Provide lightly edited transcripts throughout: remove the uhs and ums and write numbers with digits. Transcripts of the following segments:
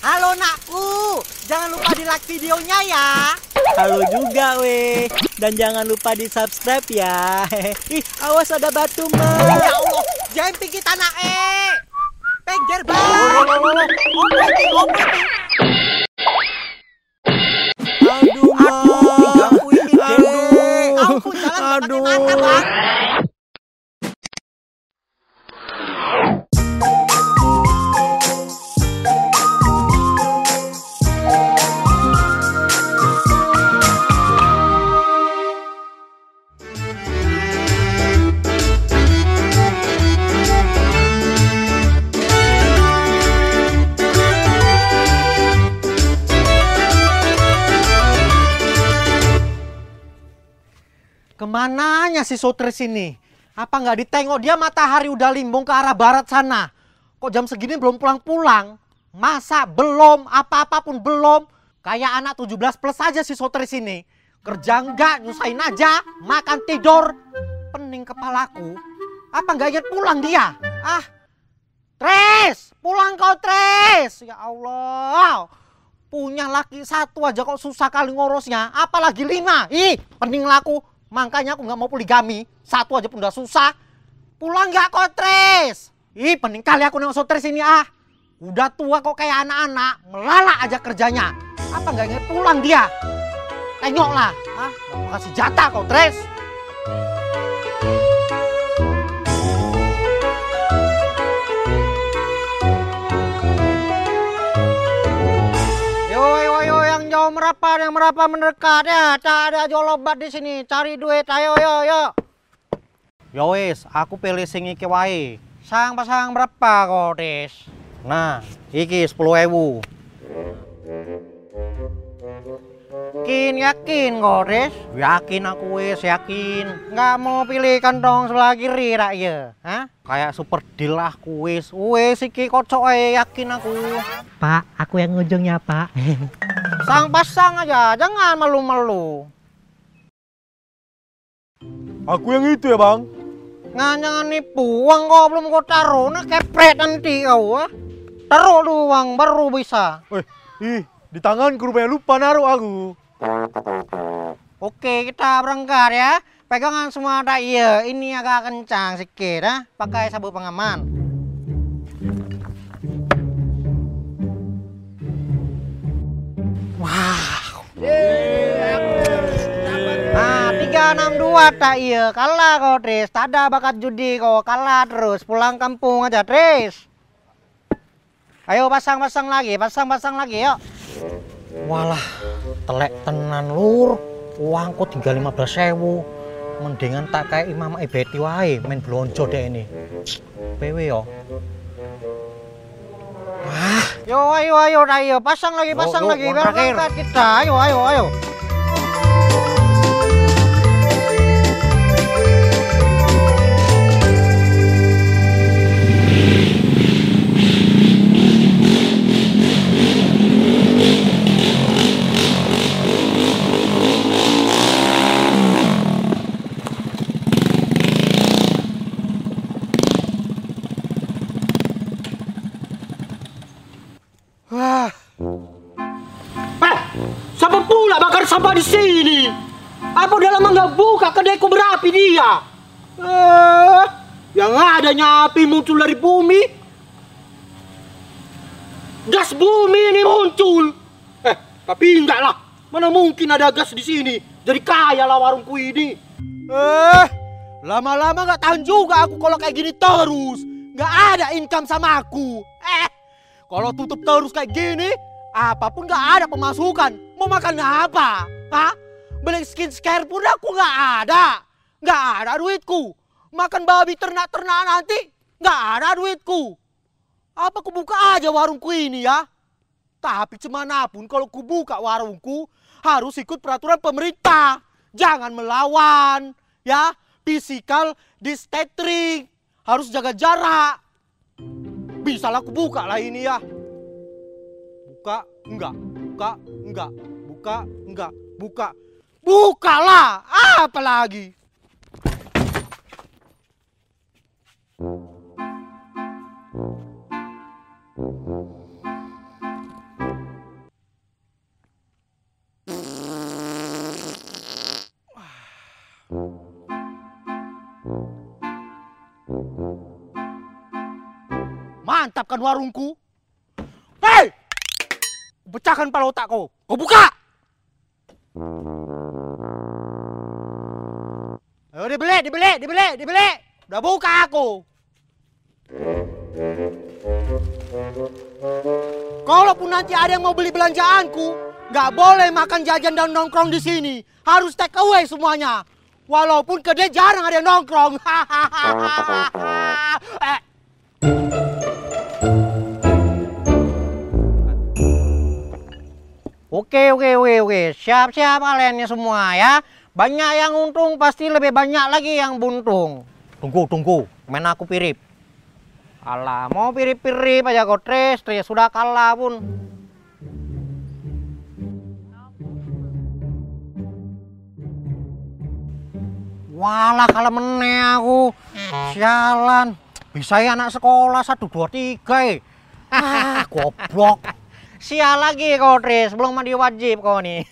Halo nakku, jangan lupa di like videonya ya. Halo juga weh. Dan jangan lupa di subscribe ya. Ih, awas ada batu mah. Ya Allah, jangan pikir tanah Pengger bang. Aduh, Ganggu ini deh. Ampun, jalan pakai mata bang. Kemananya si Sotris ini? Apa nggak ditengok dia matahari udah limbung ke arah barat sana? Kok jam segini belum pulang-pulang? Masa belum? Apa-apa pun belum? Kayak anak 17 plus aja si Sotris ini. Kerja enggak, nyusahin aja, makan tidur. Pening kepalaku. Apa nggak ingat pulang dia? Ah, Tres! Pulang kau Tres! Ya Allah! Punya laki satu aja kok susah kali ngurusnya. Apalagi 5. Ih, pening laku. Makanya aku nggak mau poligami. Satu aja pun udah susah. Pulang nggak kok Tres? Ih, pening kali aku nengok Sotris ini ah. Udah tua kok kayak anak-anak. Melalak aja kerjanya. Apa nggak inget pulang dia? Tengoklah. Ah, mau kasih jatah kau Tres. Yo, yang jauh merapat mendekat ya. Tak ada jolobat di sini. Cari duit, ayo, yo. Yo wis, aku pilih sing iki wae. Pasang berapa kok, Des? Nah, iki 10.000. Yakin kok, Des? Yakin aku wis, yakin. Nggak mau pilih kantong sebelah kiri rak ya? Hah? Kayak super deal aku wis. Wis iki kocok ae, yakin aku. Pak, aku yang ujungnya, Pak. Pasang aja, jangan malu-malu. Aku yang itu ya bang. Jangan nipu, uang kau belum kau taruh, nah kepret nanti kau ah. Taruh dulu uang, baru bisa. Di tangan rupanya lupa naruh aku. Oke, kita berangkat ya. Pegangan semua ada iya, ini agak kencang sedikit ah. Pakai sabuk pengaman. Wow. Nah, 362 tak iya. Kalah kau, Tris. Tak ada bakat judi kau. Kalah terus. Pulang kampung aja, Tris. Ayo pasang-pasang lagi. Pasang-pasang lagi, yuk. Walah, telek tenan lur. Uangku tinggal 15.000. Mendingan tak kayak Imam Ibeti wae. Main blonjo deh ini. PW yo. Wah. Yo, ayo. Pasang lagi. Biar berangkat kita. Ayo. Wah. Siapa pula bakar sampah di sini? Apa udah lama nggak buka kedaiku berapi dia? Yang adanya api muncul dari bumi. Gas bumi ini muncul. Tapi enggak lah. Mana mungkin ada gas di sini? Jadi kaya lah warungku ini. Lama-lama nggak tahan juga aku kalau kayak gini terus. Nggak ada income sama aku. Kalau tutup terus kayak gini, apapun nggak ada pemasukan. Mau makan apa? Hah? Beli skincare pun aku nggak ada. Nggak ada duitku. Makan babi ternak-ternak nanti, nggak ada duitku. Apa ku buka aja warungku ini ya? Tapi cumanapun kalau ku buka warungku, harus ikut peraturan pemerintah. Jangan melawan, ya. Physical distancing. Harus jaga jarak. Bisa lah aku buka lah ini ya. Buka, enggak. Buka. Bukalah. Apa lagi? menghadapkan warungku? Hei! Pecahkan pala otak kau. Kau buka! Ayo dibeli. Udah buka aku. Kalaupun nanti ada yang mau beli belanjaanku, nggak boleh makan jajan dan nongkrong di sini. Harus take away semuanya. Walaupun kedai jarang ada yang nongkrong. Oke. Siap-siap kaliannya semua ya. Banyak yang untung, pasti lebih banyak lagi yang buntung. Tunggu. Main aku pirip. Alah, mau pirip-pirip aja kau Tres sudah kalah pun. Walah, kalah meneh aku. Sialan. Bisa ya anak sekolah 1, 2, 3 goblok. Sial lagi kau Tres, belum mandi wajib kau nih.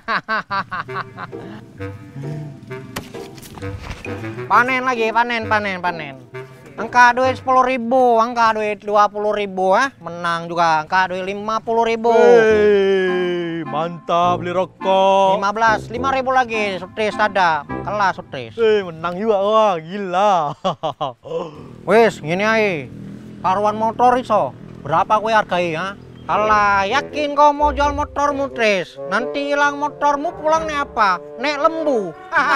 Panen lagi, panen. Angka duit 10.000, angka duit 20.000 menang juga, angka duit 50.000. Hei, mantap beli rokok. 5.000 lagi, Sutris ada, kalah Sutris. Menang juga, wah gila. Wes, gini aja, karuan motor iso, berapa kue hargai ya? Alah, yakin kau mau jual motormu, Tris? Nanti hilang motormu pulang nih apa? Nek lembu.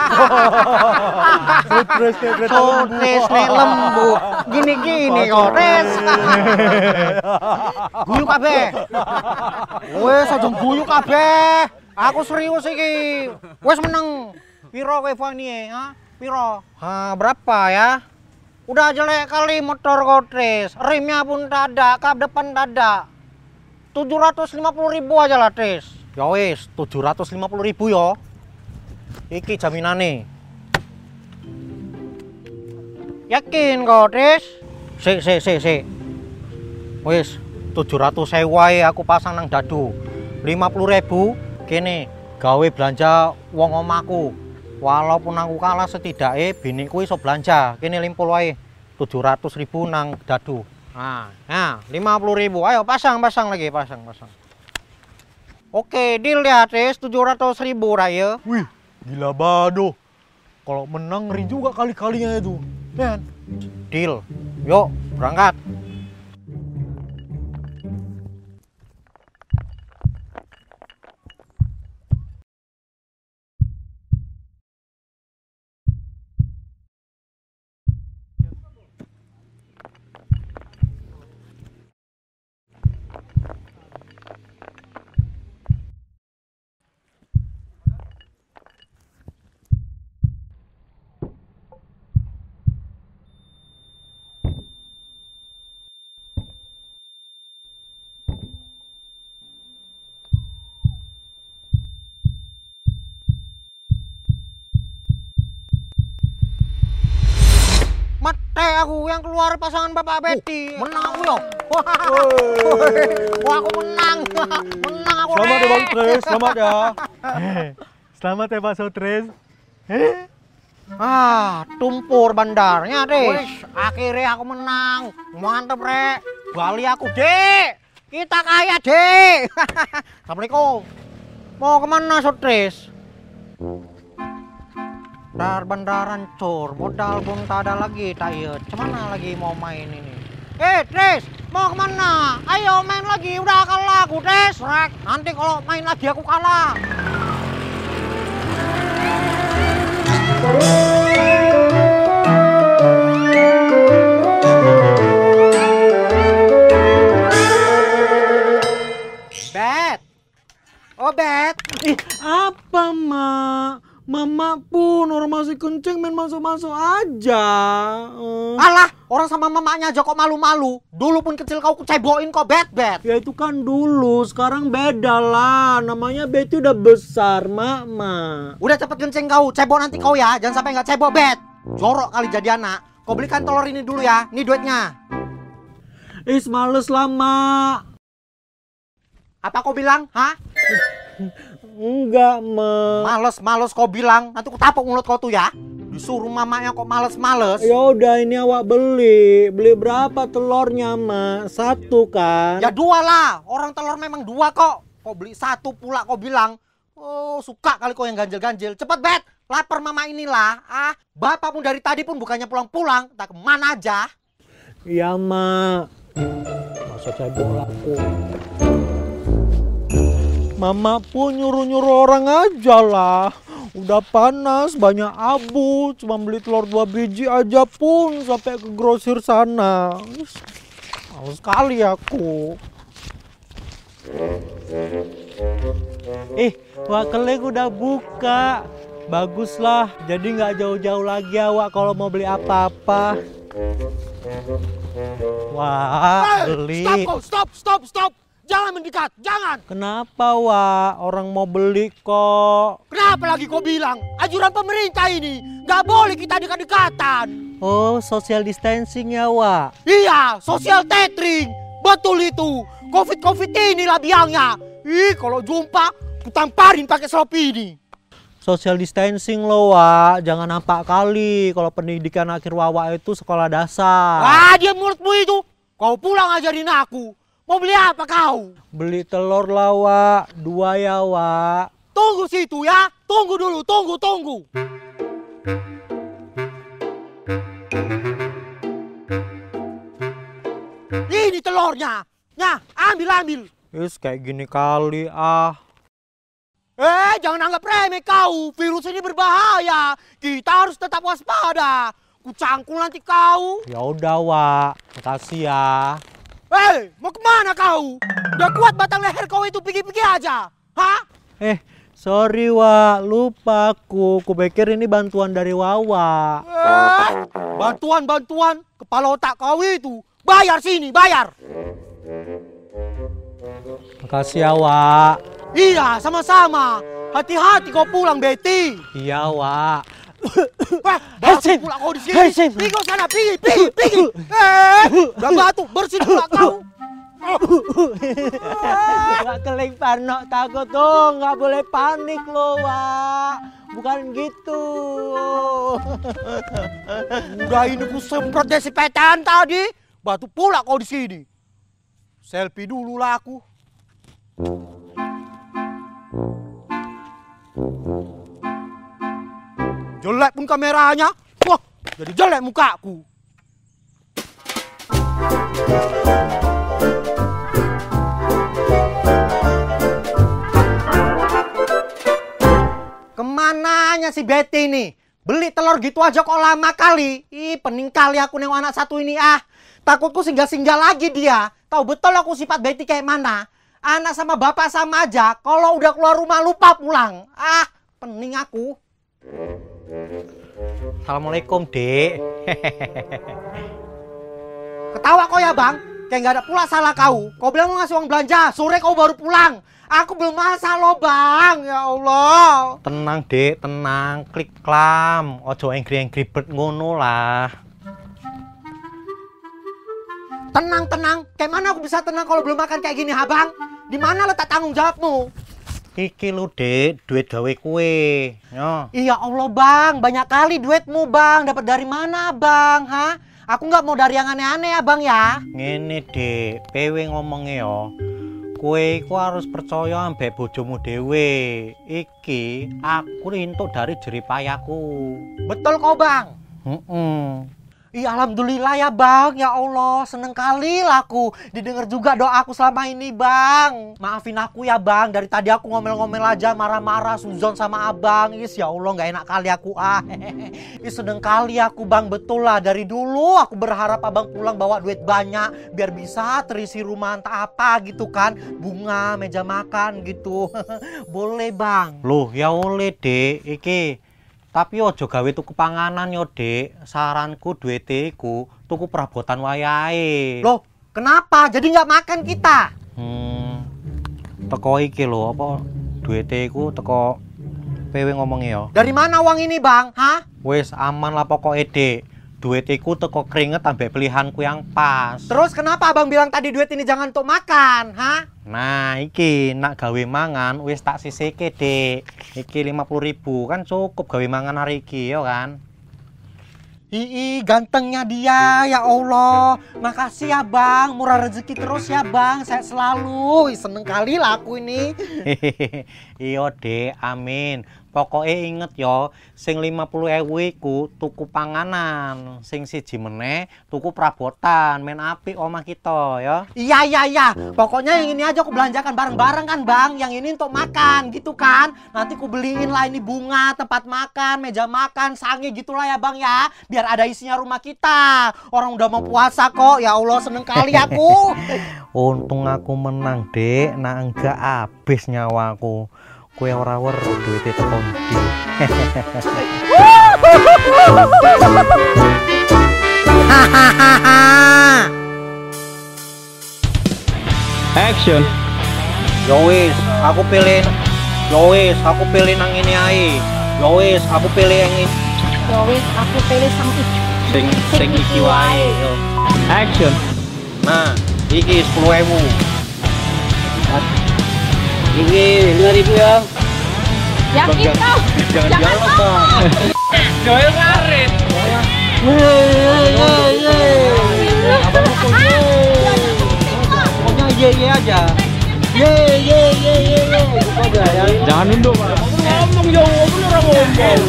Sutris nek lembu. Gini kau, Tris. Guyu kabeh. Wes aja guyu kabeh. Aku serius iki. Wes menang. Piro kowe Fani, ha? Piro? Berapa ya? Udah jelek kali motor kau, Tris. Remnya pun tak ada, kap depan tak ada. 750.000 aja lah, Tris. Ya wis, 750.000 yo. Iki jaminane. Yakin kok, Tris? Sik. Wis, 700.000 wae aku pasang nang dadu. 50.000 kene gawe belanja wong omahku. Walaupun aku kalah setidaknya biniku iso belanja. Kene limpul wae. 700.000 nang dadu. Nah, 50.000. Ayo pasang lagi, pasang. Oke, deal ya, Tris. 700.000 raya. Wih, gila bado. Kalau menang ngeri juga kali-kalinya itu. Dan deal. Yuk, berangkat. Mate aku yang keluar pasangan Bapak Betty. Menang aku yo. Wah, aku menang. Menang aku. Selamat ya Bang Tris, selamat ya. Selamat ya Pak Sutris. Tumpur bandarnya, Tris. Akhirnya aku menang. Mantep, Rek. Bali aku, Dek. Kita kaya, Dek. Assalamualaikum. Mau kemana, Sutris? Bandar hancur, modal pun tak ada lagi, tak iya. Cemana lagi mau main ini? Tris, mau kemana? Ayo main lagi, udah kalah aku, Tris. Nanti kalau main lagi aku kalah. Bet. Oh, Bet. Apa, Mak? Mama pun orang masih kencing main masuk-masuk aja. Alah, orang sama mamanya aja kok malu-malu. Dulu pun kecil kau cebokin kok, Bet. Ya itu kan dulu, sekarang beda lah. Namanya Betty udah besar, Mak. Udah cepet kencing kau, cebok nanti kau ya. Jangan sampai nggak cebok, Bet. Jorok kali jadi anak. Kau belikan telur ini dulu ya. Ini duitnya. Males lah, Mak. Apa kau bilang? Hah? Enggak, Ma. Males kau bilang, nanti aku tapuk mulut kau tuh ya. Disuruh mamanya kok males-males. Ya udah, ini awak beli. Beli berapa telurnya, Ma? 1 kan? Ya 2 lah, orang telur memang 2 kok. Kau beli 1 pula kau bilang. Oh, suka kali kau yang ganjil-ganjil. Cepet Bet, lapar mama inilah. Bapak pun dari tadi pun bukannya pulang-pulang, tak kemana aja. Iya, Ma. Masa saya bola aku. Mama pun nyuruh-nyuruh orang aja lah. Udah panas, banyak abu. Cuma beli telur 2 biji aja pun sampai ke grosir sana. Males sekali aku. Wak Keling udah buka. Baguslah, jadi nggak jauh-jauh lagi awak kalau mau beli apa-apa. Wah, beli. Stop. Jangan mendekat, jangan. Kenapa, Wak? Orang mau beli kok. Kenapa lagi kau bilang? Anjuran pemerintah ini, nggak boleh kita dekat-dekatan. Oh, social distancing ya, Wak? Iya, social tethering. Betul itu. Covid inilah biangnya. Kalau jumpa, ku tamparin pakai Shopee ini. Social distancing loh, Wak. Jangan nampak kali kalau pendidikan akhir Wawa itu sekolah dasar. Diam mulutmu itu. Kau pulang ajarin aku. Mau beli apa kau? Beli telur lah, Wak. 2 ya, Wak. Tunggu situ ya. Tunggu dulu, tunggu. Ini telurnya. Nah, ambil. Kayak gini kali, Jangan anggap remeh kau. Virus ini berbahaya. Kita harus tetap waspada. Ku cangkul nanti kau. Ya udah, Wak. Makasih ya. Mau kemana kau? Udah kuat batang leher kau itu, pergi-pergi aja. Hah? Sorry, Wak. Lupa aku. Kupikir ini bantuan dari Wawa. Bantuan. Kepala otak kau itu. Bayar sini, bayar. Makasih ya, Wak. Iya, sama-sama. Hati-hati kau pulang, Betty. Iya, Wak. Batuk pula kau di sini. Pergi kau sana, pergi. Udah batuk, bersih pula kau. Wak Keling Parno takut tuh, nggak boleh panik loh, Wak. Bukan gitu. Udah ini ku semprot desinfektan tadi. Batuk pula kau di sini. Selfie dulu lah aku. Jelek pun kameranya. Wah, jadi jelek mukaku. Kemananya si Betty ini? Beli telur gitu aja kok lama kali. Pening kali aku nengok anak satu ini. Takutku singgah-singgah lagi dia. Tahu betul aku sifat Betty kayak mana. Anak sama bapak sama aja. Kalau udah keluar rumah lupa pulang. Pening aku. Assalamualaikum, Dek. Ketawa kau ya, Bang? Kayak nggak ada pula salah kau. Kau bilang mau ngasih uang belanja, sore kau baru pulang. Aku belum masak loh, Bang. Ya Allah. Tenang, Dek, tenang. Klik klam. Ojo angry bird ngono lah. Tenang. Kayak mana aku bisa tenang kalau belum makan kayak gini, ha, Bang? Di mana letak tanggung jawabmu? Iki lu, Dek, duit gawe kue. Yo. Iya Allah, Bang. Banyak kali duitmu, Bang. Dapat dari mana, Bang? Hah? Aku nggak mau dari yang aneh-aneh ya, Bang ya. Ngene, Dek, PW ngomongnya yo. Kue iku harus percaya ambek bojomu dhewe. Iki aku rintuk dari jeripayahku. Betul kok, Bang? Iya, alhamdulillah ya, Bang. Ya Allah, seneng kali lah aku didengar juga doaku selama ini, Bang. Maafin aku ya, Bang. Dari tadi aku ngomel-ngomel aja, marah-marah, suzon sama Abang. Ya Allah, nggak enak kali aku. Seneng kali aku, Bang. Betul lah, dari dulu aku berharap Abang pulang bawa duit banyak biar bisa terisi rumah entah apa gitu kan. Bunga, meja makan gitu. Boleh, Bang. Loh, ya oleh, Dek. Iki tapi ojo gawe tuku panganan yo, Dek. Saranku duwite iku tuku perabotan wayahe. Loh, kenapa? Jadi nggak makan kita? Teko iki lho, apa duwite iku teko PW ngomongnya yo. Dari mana uang ini, Bang? Hah? Wis aman lah pokoke, Dek. Duit iku teko keringet ambek pilihanku yang pas. Terus kenapa Abang bilang tadi duit ini jangan untuk makan, hah? Nah, iki nak gawe mangan wis tak sisihke, Dik. Iki 50.000 kan cukup gawe mangan hari iki ya kan. Ii, gantengnya dia, ya Allah. Makasih ya Bang, murah rezeki terus ya Bang. Saya selalu seneng kali lah aku ini. Iya, Dek, amin. Pokoknya inget yo, sing 50.000 iku tuku panganan, sing siji meneh tuku perabotan, main apik omah kita ya. Iya. Pokoknya yang ini aja aku belanjakan bareng-bareng kan Bang. Yang ini untuk makan gitu kan. Nanti aku beliin lah ini bunga, tempat makan, meja makan, sange gitulah ya Bang ya. Biar ada isinya rumah kita. Orang udah mau puasa kok. Ya Allah, seneng kali aku. Untung aku menang, Dek. Nah enggak habis nyawaku. Kue ora weruh duwite teko ndi. Action. Yo wis, aku pilih. Yo wis, aku pilih nang ini ae. Yo wis, aku pilih yang ini. Ya wis, aku pilih sang iki. Sing iki wae. Yo. Action. Nah, iki 10.000. Ini 5.000 ya. Yakin kau? Jangan ngomong. Joel ngarit. Pokoknya ye aja. Ye. Gitu aja ya. Jangan nunduk. Ngomong yo, orang ngomong.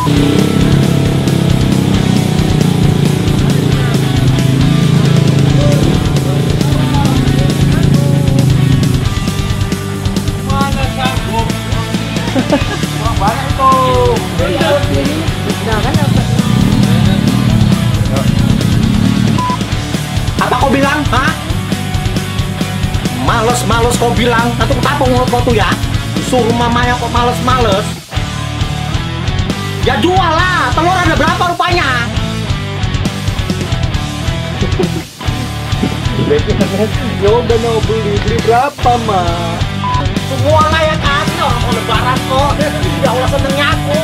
Apa kau bilang? Hah? Males kau bilang. Nanti aku tapung mulut kau tuh ya. Suruh mamanya kok males. Ya jual lah. Telur ada berapa rupanya? Ya udah mau beli berapa mah? Semua lah ya kan. Orang mau lebaran kok. Ya Allah, senengnya aku.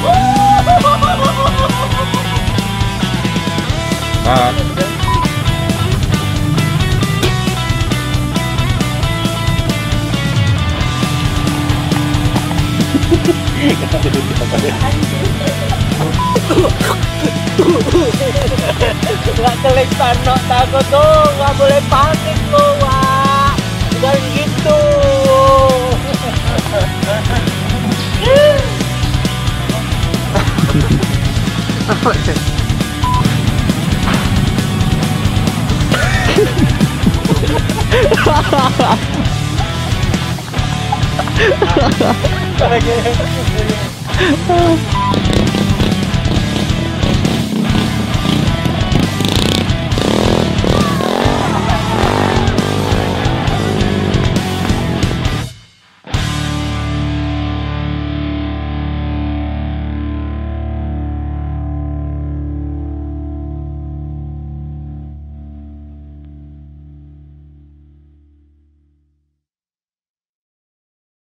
Nggak kelihatan no, takut tuh, nggak boleh panik tuh, Wak. Bukan gitu. Hahaha.